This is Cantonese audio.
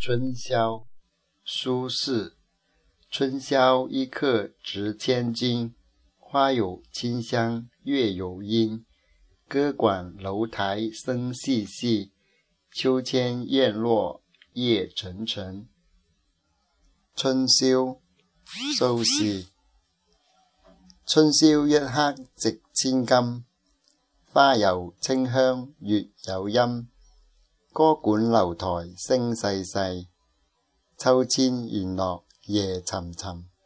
春宵，苏轼。春宵一刻值千金，花有清香，月有阴。歌管楼台声细细，秋千燕落夜沉沉。春宵，蘇軾。春宵一刻值千金，花有清香，月有陰。歌管樓台聲細細，秋千燕落夜沉沉。